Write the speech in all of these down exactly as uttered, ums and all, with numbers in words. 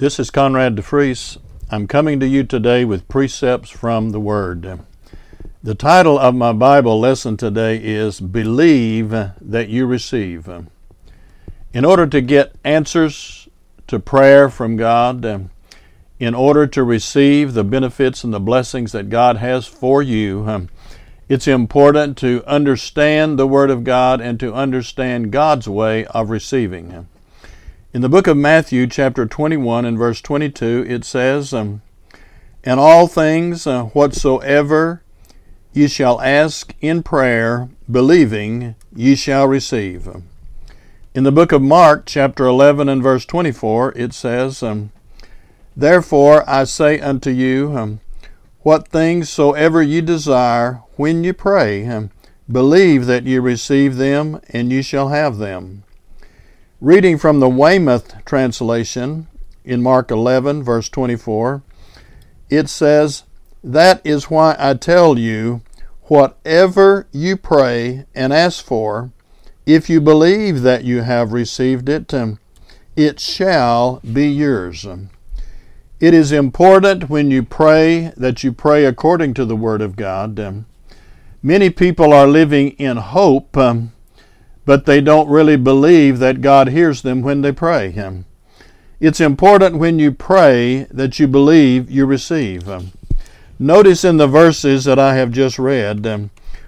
This is Conrad DeFries. I'm coming to you today with precepts from the Word. The title of my Bible lesson today is Believe That You Receive. In order to get answers to prayer from God, in order to receive the benefits and the blessings that God has for you, it's important to understand the Word of God and to understand God's way of receiving. In the book of Matthew, chapter twenty-one and verse twenty-two, it says, um, And all things uh, whatsoever ye shall ask in prayer, believing, ye shall receive. In the book of Mark, chapter eleven and verse twenty-four, it says, um, Therefore I say unto you, um, what things soever ye desire, when ye pray, um, believe that ye receive them, and ye shall have them. Reading from the Weymouth translation in Mark eleven, verse twenty-four, it says, That is why I tell you, whatever you pray and ask for, if you believe that you have received it, um, it shall be yours. It is important when you pray that you pray according to the Word of God. Um, many people are living in hope, um, but they don't really believe that God hears them when they pray. Um, it's important when you pray that you believe you receive. Um, notice in the verses that I have just read, um,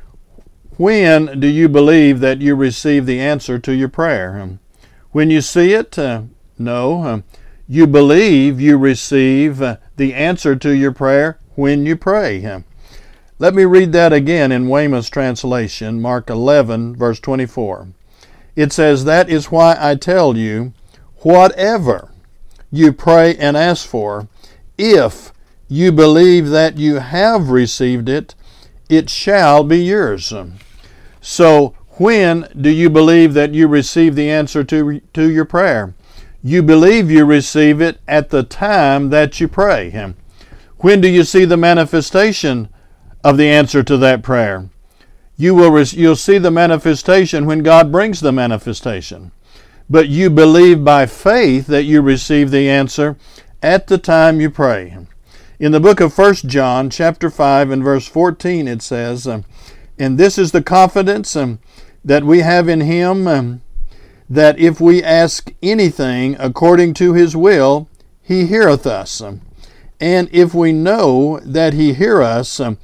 when do you believe that you receive the answer to your prayer? Um, when you see it? Uh, no. Um, you believe you receive uh, the answer to your prayer when you pray. Um, Let me read that again in Weymouth's translation, Mark eleven, verse twenty-four. It says, That is why I tell you, whatever you pray and ask for, if you believe that you have received it, it shall be yours. So, when do you believe that you receive the answer to, to your prayer? You believe you receive it at the time that you pray. When do you see the manifestation of the answer to that prayer? You will you'll see the manifestation when God brings the manifestation. But you believe by faith that you receive the answer at the time you pray. In the book of First John, chapter five and verse fourteen, it says, And this is the confidence um, that we have in Him, um, that if we ask anything according to His will, He heareth us. And if we know that He hear us, um,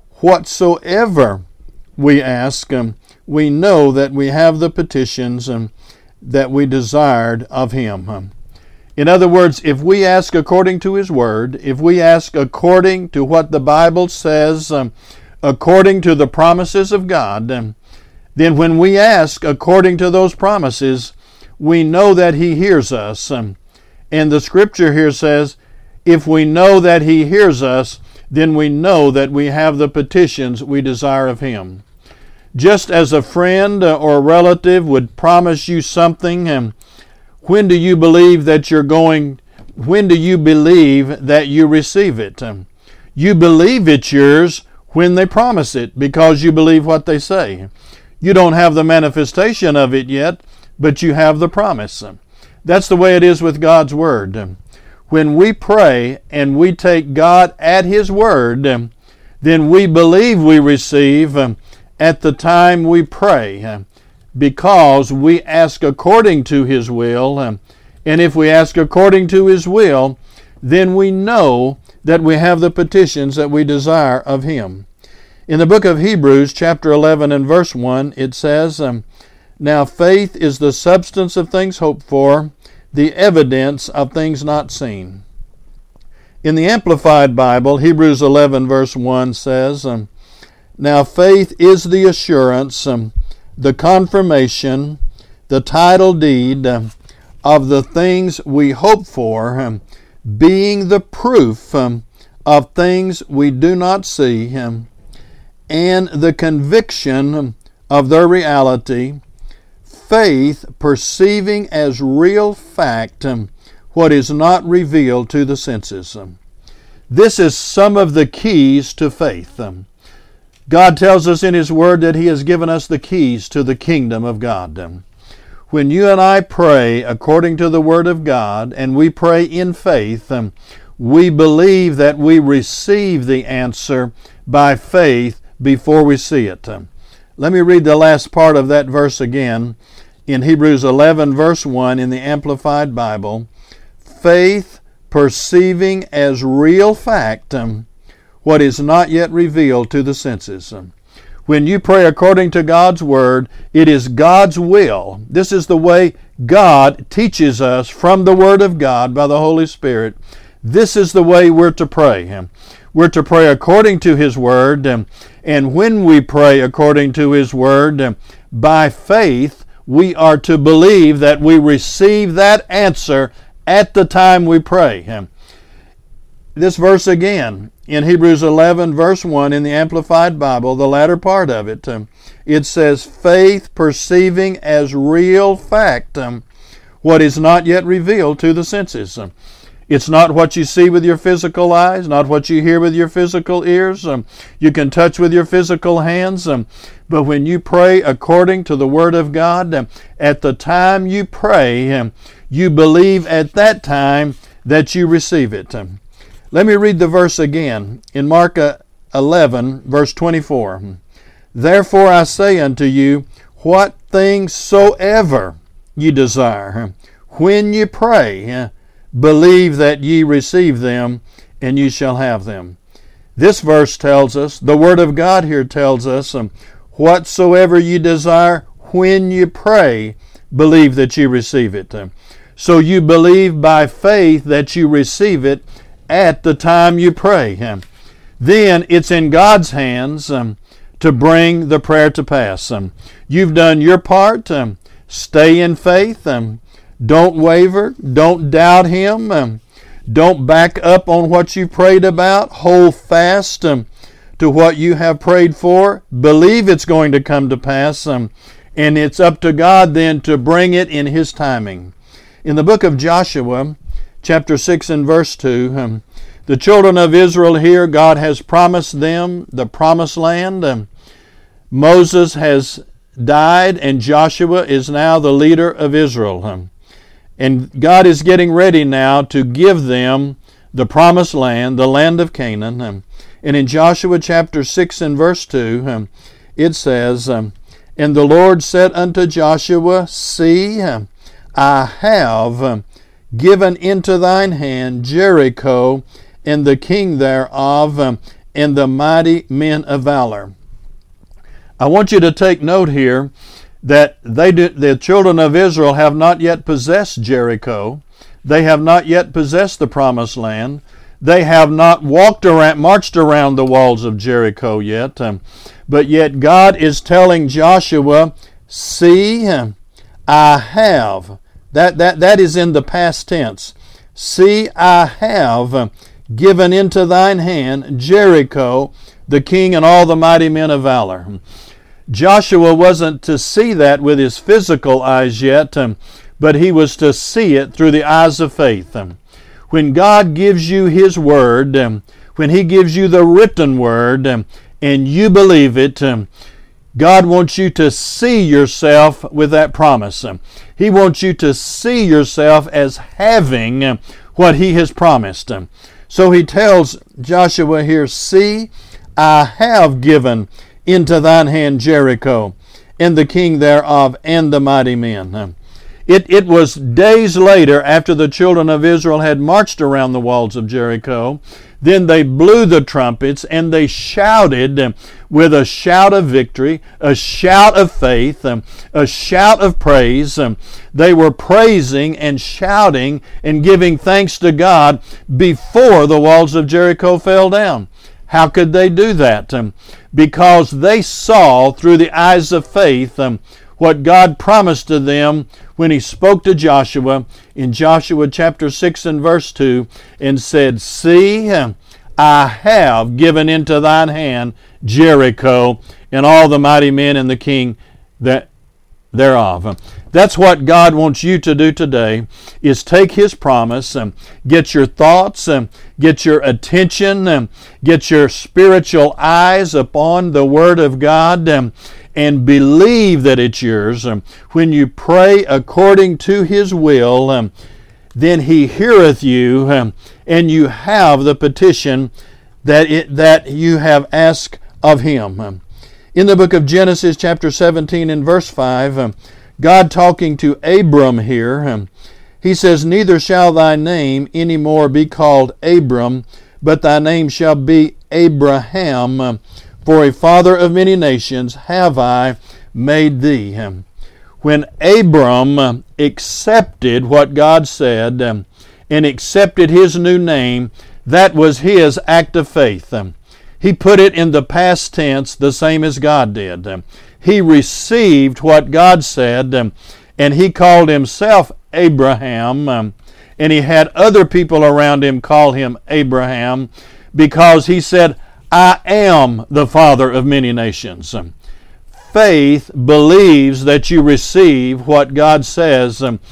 whatsoever we ask, um, we know that we have the petitions um, that we desired of Him. Um, in other words, if we ask according to His Word, if we ask according to what the Bible says, um, according to the promises of God, um, then when we ask according to those promises, we know that He hears us. Um, and the Scripture here says, if we know that He hears us, then we know that we have the petitions we desire of Him. Just as a friend or a relative would promise you something, and when do you believe that you're going, when do you believe that you receive it? You believe it's yours when they promise it because you believe what they say. You don't have the manifestation of it yet, but you have the promise. That's the way it is with God's Word. When we pray and we take God at His Word, then we believe we receive at the time we pray because we ask according to His will. And if we ask according to His will, then we know that we have the petitions that we desire of Him. In the book of Hebrews, chapter eleven and verse one, it says, Now faith is the substance of things hoped for, the evidence of things not seen. In the Amplified Bible, Hebrews eleven verse one says, um, Now faith is the assurance, um, the confirmation, the title deed um, of the things we hope for, um, being the proof um, of things we do not see, um, and the conviction of their reality, faith perceiving as real fact um, what is not revealed to the senses. Um, this is some of the keys to faith. Um, God tells us in His Word that He has given us the keys to the kingdom of God. Um, when you and I pray according to the Word of God, and we pray in faith, um, we believe that we receive the answer by faith before we see it. Um, let me read the last part of that verse again in Hebrews eleven, verse one in the Amplified Bible. Faith perceiving as real fact um, what is not yet revealed to the senses. Um, When you pray according to God's Word, it is God's will. This is the way God teaches us from the Word of God by the Holy Spirit. This is the way we're to pray. We're to pray according to His Word, and when we pray according to His Word, by faith, we are to believe that we receive that answer at the time we pray. This verse again, in Hebrews eleven, verse one, in the Amplified Bible, the latter part of it, um, it says, faith perceiving as real fact um, what is not yet revealed to the senses. Um, it's not what you see with your physical eyes, not what you hear with your physical ears, um, you can touch with your physical hands, um, but when you pray according to the Word of God, um, at the time you pray, um, you believe at that time that you receive it. Um, Let me read the verse again in Mark eleven, verse twenty-four. Therefore I say unto you, what things soever ye desire, when ye pray, believe that ye receive them, and ye shall have them. This verse tells us, the Word of God here tells us, um, whatsoever ye desire, when ye pray, believe that ye receive it. So you believe by faith that you receive it at the time you pray. Then it's in God's hands um, to bring the prayer to pass. Um, you've done your part. Um, stay in faith. Um, don't waver. Don't doubt Him. Um, don't back up on what you prayed about. Hold fast um, to what you have prayed for. Believe it's going to come to pass. Um, and it's up to God then to bring it in His timing. In the book of Joshua, chapter six and verse two, um, the children of Israel here, God has promised them the promised land. Um, Moses has died and Joshua is now the leader of Israel. Um, and God is getting ready now to give them the promised land, the land of Canaan. Um, and in Joshua chapter six and verse two, um, it says, um, And the Lord said unto Joshua, See, um, I have um, given into thine hand Jericho, and the king thereof, um, and the mighty men of valor. I want you to take note here that they do, the children of Israel have not yet possessed Jericho. They have not yet possessed the promised land. They have not walked around, marched around the walls of Jericho yet. Um, but yet God is telling Joshua, See, um, I have. That, that, that is in the past tense. See, I have given into thine hand Jericho, the king, and all the mighty men of valor. Joshua wasn't to see that with his physical eyes yet, um, but he was to see it through the eyes of faith. Um, when God gives you His Word, um, when He gives you the written Word, um, and you believe it, um, God wants you to see yourself with that promise. Um, He wants you to see yourself as having um, what He has promised. Um, so He tells Joshua here, See, I have given into thine hand Jericho, and the king thereof, and the mighty men. Um, It, it was days later, after the children of Israel had marched around the walls of Jericho, then they blew the trumpets and they shouted um, with a shout of victory, a shout of faith, um, a shout of praise. Um, they were praising and shouting and giving thanks to God before the walls of Jericho fell down. How could they do that? Um, because they saw through the eyes of faith um, what God promised to them when He spoke to Joshua in Joshua chapter six and verse two and said, See, I have given into thine hand Jericho and all the mighty men and the king that thereof. That's what God wants you to do today, is take His promise, and get your thoughts, and get your attention, and get your spiritual eyes upon the Word of God, and, and believe that it's yours, um, when you pray according to His will, um, then He heareth you, um, and you have the petition that it, that you have asked of Him. Um, in the book of Genesis chapter seventeen and verse five, um, God talking to Abram here, um, He says, "Neither shall thy name any more be called Abram, but thy name shall be Abraham, um, for a father of many nations have I made thee." Um, when Abram accepted what God said um, and accepted his new name, that was his act of faith. Um, he put it in the past tense, the same as God did. Um, he received what God said, um, and he called himself Abraham, um, and he had other people around him call him Abraham, because he said, "I am the father of many nations." Um, Faith believes that you receive what God says um,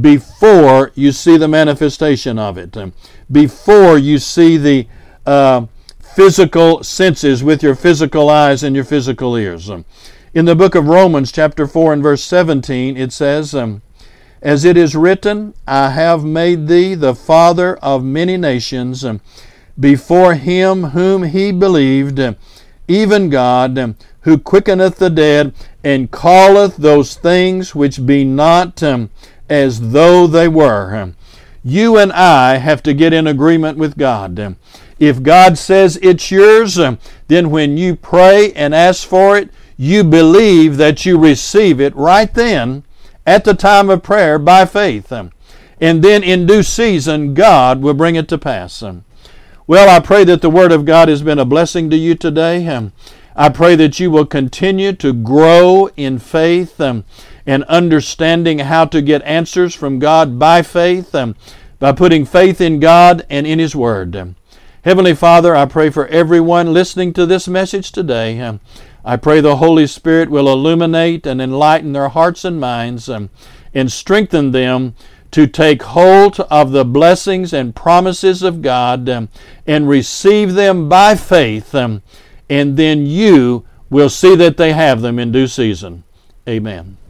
before you see the manifestation of it, um, before you see the uh, physical senses with your physical eyes and your physical ears. Um, in the book of Romans chapter four and verse seventeen, it says, um, "As it is written, I have made thee the father of many nations, um, before him whom he believed, um, even God, um, who quickeneth the dead, and calleth those things which be not um, as though they were." Um, you and I have to get in agreement with God. Um, if God says it's yours, um, then when you pray and ask for it, you believe that you receive it right then at the time of prayer by faith. Um, and then in due season, God will bring it to pass. Um, well, I pray that the Word of God has been a blessing to you today. Um, I pray that you will continue to grow in faith um, and understanding how to get answers from God by faith, um, by putting faith in God and in His Word. Um, Heavenly Father, I pray for everyone listening to this message today. Um, I pray the Holy Spirit will illuminate and enlighten their hearts and minds um, and strengthen them to take hold of the blessings and promises of God um, and receive them by faith, um, and then you will see that they have them in due season. Amen.